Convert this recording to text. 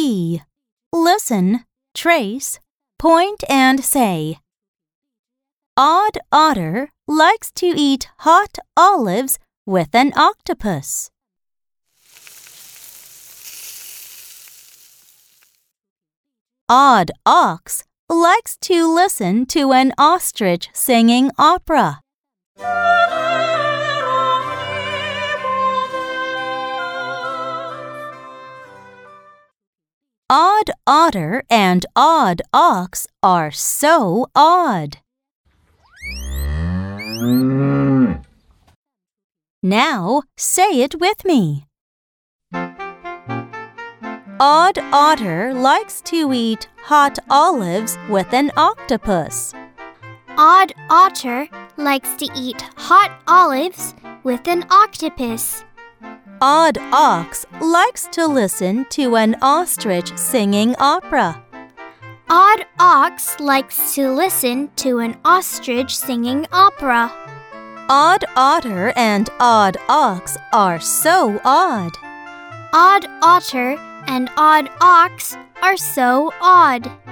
E. Listen, trace, point and say. Odd otter likes to eat hot olives with an octopus. Odd ox likes to listen to an ostrich singing opera. Odd otter and odd ox are so odd. Now say it with me. Odd otter likes to eat hot olives with an octopus. Odd otter likes to eat hot olives with an octopus. Odd ox likes to listen to an ostrich singing opera. Odd ox likes to listen to an ostrich singing opera. Odd otter and odd ox are so odd. Odd otter and odd ox are so odd.